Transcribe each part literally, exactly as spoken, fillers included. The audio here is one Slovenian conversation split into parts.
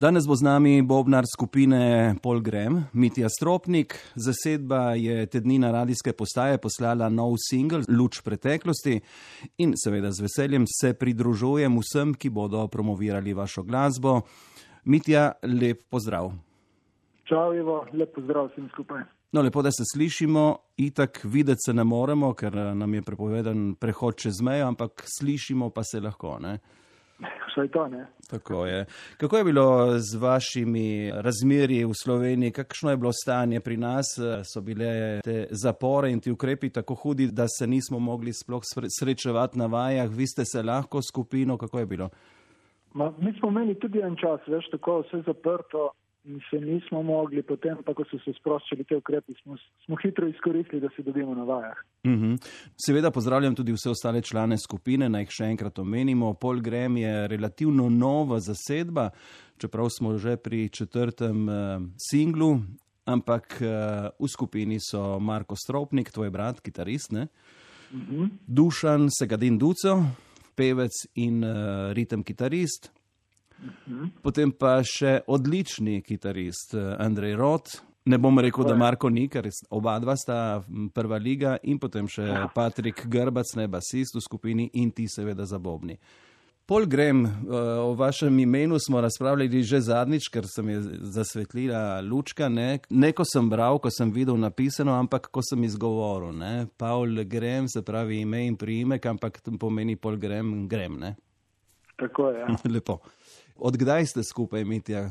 Danes bo z nami bobnar skupine Paul Graham, Mitja Stropnik. Zasedba je te dni na radijske postaje poslala nov singel Luč preteklosti in seveda z veseljem se pridružujem vsem, ki bodo promovirali vašo glasbo. Mitja, lep pozdrav. Čau, Ivo, lep pozdrav vsem skupaj. No, lepo, da se slišimo. Itak videti se ne moremo, ker nam je prepovedan prehod čez mejo, ampak slišimo pa se lahko, ne? Vsaj to, ne? Tako je. Kako je bilo z vašimi razmerji v Sloveniji? Kakšno je bilo stanje pri nas? So bile te zapore in ti ukrepi tako hudi, da se nismo mogli sploh srečevati na vajah? Vi ste se lahko skupino, kako je bilo? Ma, mi smo imeli tudi en čas, veš, tako vse zaprto in se nismo mogli, potem pa, ko so se sproščali te ukrepi, smo, smo hitro izkoristili, da se dobimo na vajah. Uh-huh. Seveda pozdravljam tudi vse ostale člane skupine, naj jih še enkrat omenimo. Paul Graham je relativno nova zasedba, čeprav smo že pri četrtem uh, singlu, ampak uh, v skupini so Marko Stropnik, tvoj brat, kitarist, ne? Uh-huh. Dušan Segadin Duco, pevec in uh, ritem kitarist. Potem pa še odlični kitarist Andrej Rot. Ne bom rekel, da Marko ni, ker oba dva sta prva liga, in potem še Patrik Grbac, ne, basist v skupini, in ti seveda za bobni. Paul Graham, o vašem imenu smo razpravljali že zadnjič, ker sem je zasvetlila lučka, ne. Ne, ko sem bral, ko sem videl napisano, ampak ko sem izgovoril, ne. Paul Graham se pravi ime in priimek, ampak pomeni Paul Graham, Graham, ne. Tako je, ja. Lepo. Od kdaj ste skupaj, Mitja?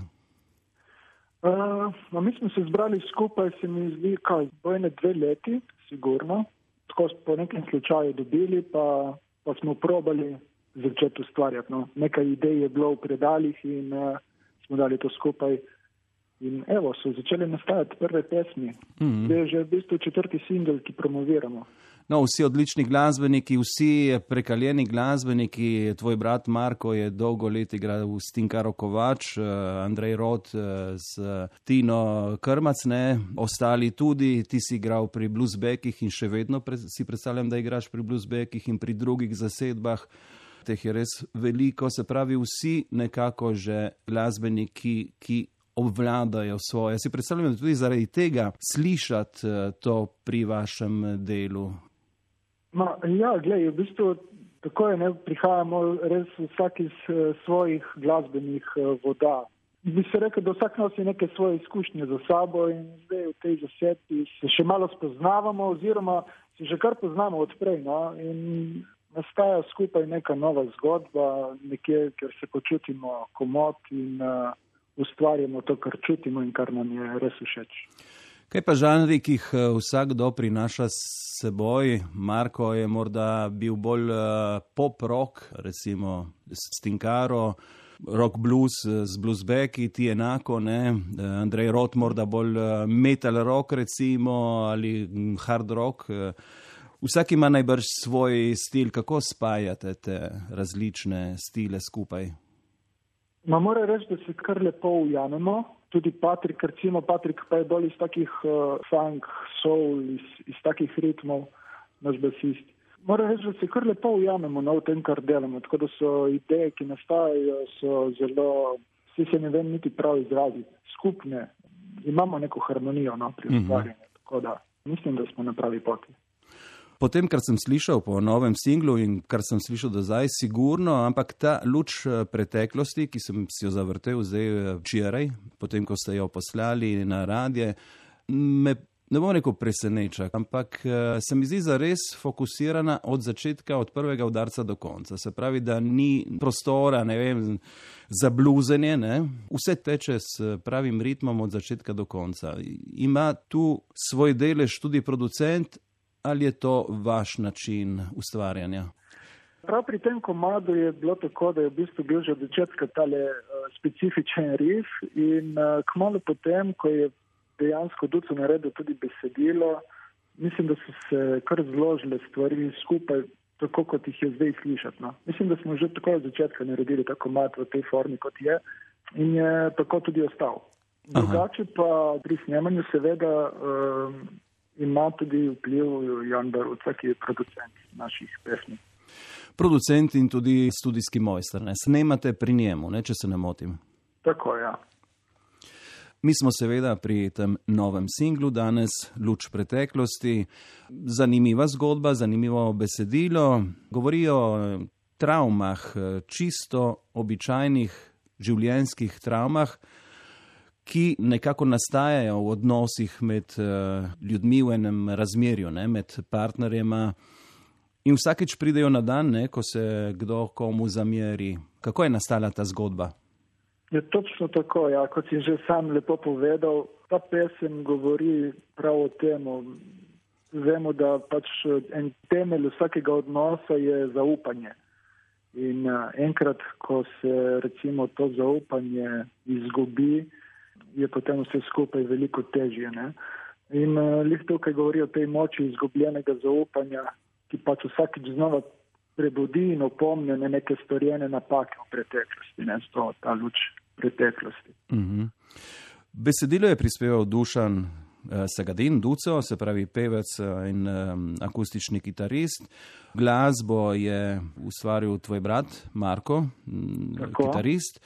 Uh, mi smo se zbrali skupaj, se mi zdi, kaj, bojne dve leti, sigurno. Tako smo po nekem slučaju dobili, pa, pa smo probali začeti ustvarjati. No. Nekaj idej je bilo v predalih in uh, smo dali to skupaj. In evo, so začeli nastajati prve pesmi. Mm-hmm. To je že v bistvu četrti singel, ki promoviramo. No, vsi odlični glasbeniki, vsi prekaljeni glasbeniki, tvoj brat Marko je dolgo let igral v Stinkaro Kovač, Andrej Rot z Tino Krmac, ne, ostali tudi, ti si igral pri Bluesbackih in še vedno pre, si predstavljam, da igraš pri Bluesbackih in pri drugih zasedbah. Teh je res veliko, se pravi vsi nekako že glasbeniki, ki obvladajo svoje. Si predstavljam, da tudi zaradi tega slišati to pri vašem delu. Ma, ja, glej, v bistvu tako je, ne, prihajamo res vsak iz uh, svojih glasbenih uh, voda. Bi se rekel, da vsak nosi neke svoje izkušnje za sabo in zdaj v tej zasedbi se še malo spoznavamo oziroma se že kar poznamo odprej, no, in nastaja skupaj neka nova zgodba, nekje, kjer se počutimo komot in uh, ustvarjamo to, kar čutimo in kar nam je res všeč. Kaj pa žanri, ki jih vsakdo prinaša s seboj? Marko je morda bil bolj pop-rock, recimo Stinkaro, rock-blues z bluesbacki, ti enako, ne? Andrej Rot morda bolj metal-rock, recimo, ali hard rock. Vsak ima najbrž svoj stil. Kako spajate te različne stile skupaj? Ma mora reči, da se kar lepo ujamemo. Tudi Patrik, recimo Patrik pa je bolj iz takih uh, funk, soul, iz, iz takih ritmov, naš basist. Moram reči, da se kar lepo ujamemo na v tem, kar delamo, tako da so ideje, ki nastajajo, so zelo, vsi se ne vem niti prav izraziti, skupne. Imamo neko harmonijo, no, pri ustvarjanju, mm-hmm. Tako da mislim, da smo na pravi poti. Potem, kar sem slišal po novem singlu in kar sem slišal do zdaj, sigurno, ampak ta luč preteklosti, ki sem si jo zavrtel zdaj včeraj, potem, ko ste jo poslali na radije, me, ne bom rekel preseneča, ampak se mi zdi zares fokusirana od začetka, od prvega udarca do konca. Se pravi, da ni prostora, ne vem, za bluzenje, ne? Vse teče s pravim ritmom od začetka do konca. Ima tu svoj delež tudi producent, ali je to vaš način ustvarjanja? Prav pri tem komadu je bilo tako, da je v bistvu bil že od začetka tale uh, specifičen riff in uh, kmalu potem, ko je dejansko Duco naredil tudi besedilo, mislim, da so se kar zložile stvari skupaj, tako kot jih je zdaj slišati. No. Mislim, da smo že tako od začetka naredili ta komad v tej formi, kot je, in je tako tudi ostal. Drugače pa pri snemanju seveda uh, ima tudi vpliv Jan Baruca, ki je producent naših pesmi. Producent in tudi studijski mojster, ne? Snemate pri njemu, ne, če se ne motim? Tako, ja. Mi smo seveda pri tem novem singlu danes, Luč preteklosti. Zanimiva zgodba, zanimivo besedilo. Govori o travmah, čisto običajnih življenjskih travmah, ki nekako nastajajo v odnosih med ljudmi v enem razmerju, ne, med partnerjema. In vsakeč pridejo na dan, ne, ko se kdo komu zameri. Kako je nastala ta zgodba? Je točno tako, ja, kot si že sam lepo povedal, ta pesem govori prav o tem. Vemo, da pač en temelj vsakega odnosa je zaupanje. In uh, enkrat, ko se recimo to zaupanje izgubi, je potem vse skupaj veliko težje. Ne? In uh, lih tukaj govori o tej moči izgubljenega zaupanja, ki pač vsakeč znova prebudi in opomne na neke storjene napake v preteklosti, ne, to, ta luč preteklosti. Mm-hmm. Besedilo je prispeval Dušan eh, Sagadin, Duco, se pravi pevec in eh, akustični kitarist. Glasbo je ustvaril tvoj brat Marko, Tako. kitarist.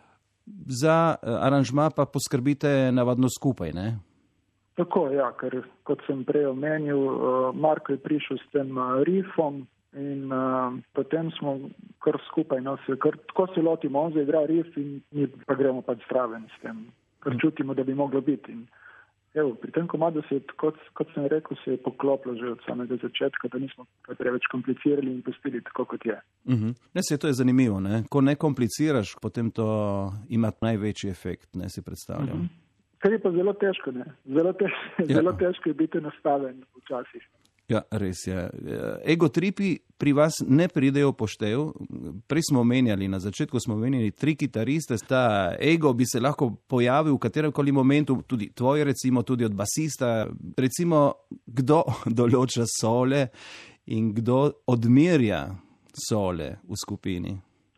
Za eh, aranžma pa poskrbite navadno skupaj, ne? Tako, ja, ker kot sem prej omenil, uh, Marko je prišel s tem uh, riffom, in uh, potem smo kar skupaj, no, se, kar, tako se lotimo, on zaigra riff in mi pa gremo pač zraven s tem, kar čutimo, da bi moglo biti. In, evo, pri tem komadu se je, kot, kot sem rekel, se je poklopilo že od samega začetka, da nismo preveč komplicirali in pustili tako, kot je. Uh-huh. Ne, se to je zanimivo, ne? Ko ne kompliciraš, potem to ima največji efekt, ne, si predstavljam. Uh-huh. Kar je pa zelo težko, ne? Zelo, tež, ja. zelo težko je biti nastaven včasih. Ja, res je. Egotripi pri vas ne pridejo v poštev. Prej smo omenjali, na začetku smo omenjali tri kitariste. Ta ego bi se lahko pojavil v kateremkoli momentu, tudi tvoj recimo, tudi od basista. Recimo, kdo določa sole in kdo odmerja sole v skupini?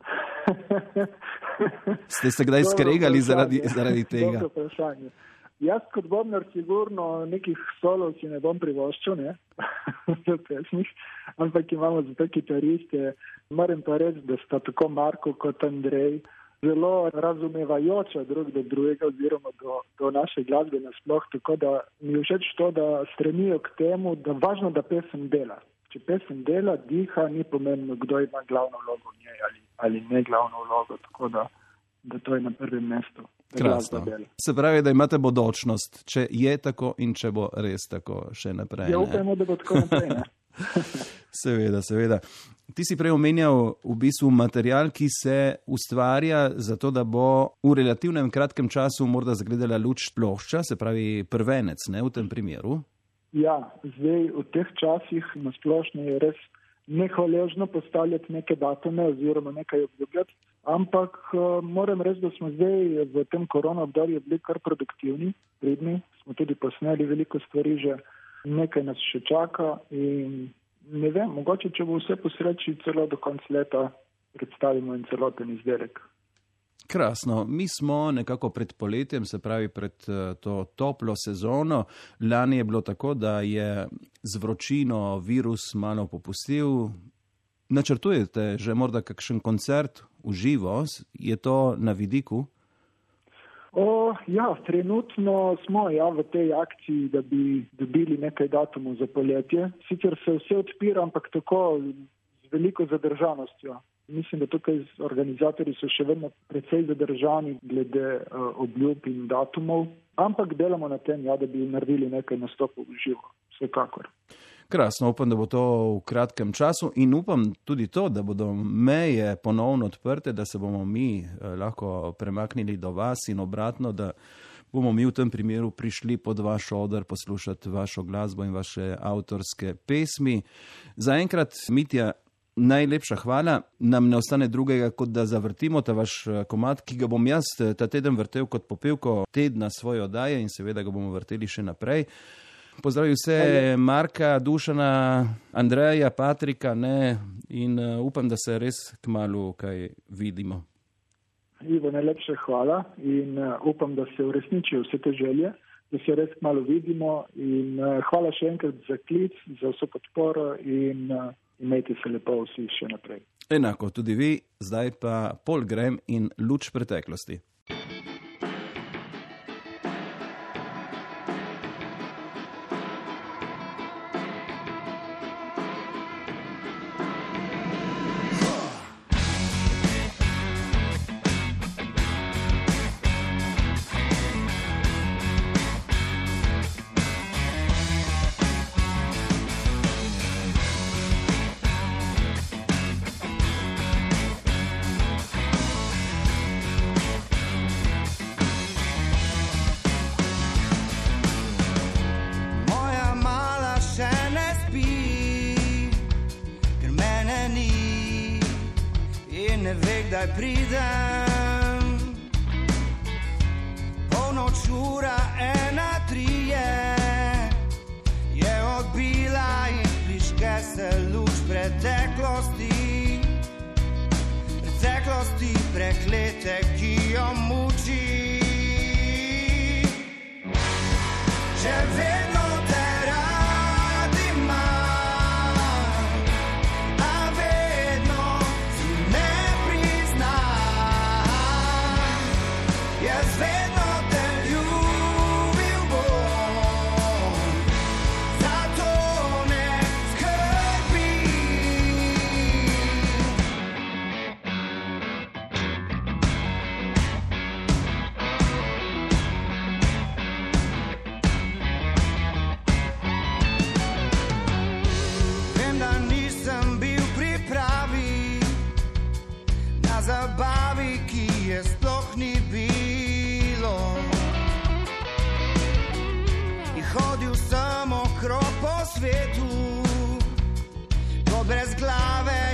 Ste se kdaj skregali zaradi, zaradi tega? Dobro vprašanje. Jaz kot bobnar sigurno nekih solov si ne bom privoščil, ne, v pesmih, ampak imamo za te kitariste. Moram pa reči, da sta tako Marko kot Andrej zelo razumevajoča drug do drugega oziroma do, do naše glasbe nasploh, tako da mi je všeč to, da stremijo k temu, da važno, da pesem dela. Če pesem dela, diha, ni pomembno, kdo ima glavno vlogo v njej ali, ali ne glavno vlogo, tako da, da to je na prvem mestu. Krasno. Se pravi, da imate bodočnost, če je tako in če bo res tako še naprej. Ja, upajmo, da bo tako naprej, ne? Seveda, seveda. Ti si prej omenjal v bistvu material, ki se ustvarja zato, da bo v relativnem kratkem času morda zagledala luč plošča, se pravi prvenec, ne, v tem primeru? Ja, zdaj v teh časih na splošno je res nehvaležno postavljati neke datume oziroma nekaj obljubljati, ampak uh, moram reči, da smo zdaj v tem korona obdobju bili kar produktivni, pridni, smo tudi posneli veliko stvari že, nekaj nas še čaka in ne vem, mogoče, če bo vse po sreči, celo do konca leta predstavimo en celoten izdelek. Krasno. Mi smo nekako pred poletjem, se pravi pred to toplo sezono. Lani je bilo tako, da je z vročino virus malo popustil. Načrtujete že morda kakšen koncert v živo? Je to na vidiku? O, ja, trenutno smo ja, v tej akciji, da bi dobili nekaj datumov za poletje. Sicer se vse odpira, ampak tako z veliko zadržanostjo. Mislim, da tukaj organizatorji so še vedno precej zadržani glede uh, obljub in datumov, ampak delamo na tem, ja, da bi naredili nekaj nastopov v živo, vsekakor. Krasno, upam, da bo to v kratkem času in upam tudi to, da bodo meje ponovno odprte, da se bomo mi eh, lahko premaknili do vas in obratno, da bomo mi v tem primeru prišli pod vaš oder poslušati vašo glasbo in vaše avtorske pesmi. Zaenkrat, Mitja, najlepša hvala. Nam ne ostane drugega, kot da zavrtimo ta vaš komad, ki ga bom jaz ta teden vrtel kot popevko tedna svoje oddaje in seveda ga bomo vrteli še naprej. Pozdravim vse Marka, Dušana, Andreja, Patrika, ne, in uh, upam, da se res kmalu kaj vidimo. Ivo, najlepša hvala in uh, upam, da se uresničijo vse te želje, da se res kmalu vidimo in uh, hvala še enkrat za klic, za vso podporo in uh, imejte se lepo vsi še naprej. Enako, tudi vi, zdaj pa Paul Graham in Luč preteklosti. Kdaj pridem, polnoč ura ena trije je odbila in prižge se luč preteklosti, preteklosti preklete, ki jo muči. Že vedno te rad imam, a vedno si ne jaz vedno te ljubil bom, zato ne skrbi. Vem, da nisem bil pri pravi, na zabavi, ki je sploh ni bilo. In hodil sem okrog po svetu, kot brez glave